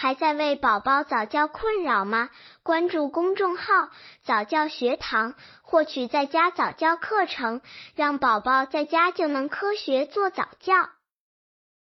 还在为宝宝早教困扰吗？关注公众号早教学堂，获取在家早教课程，让宝宝在家就能科学做早教。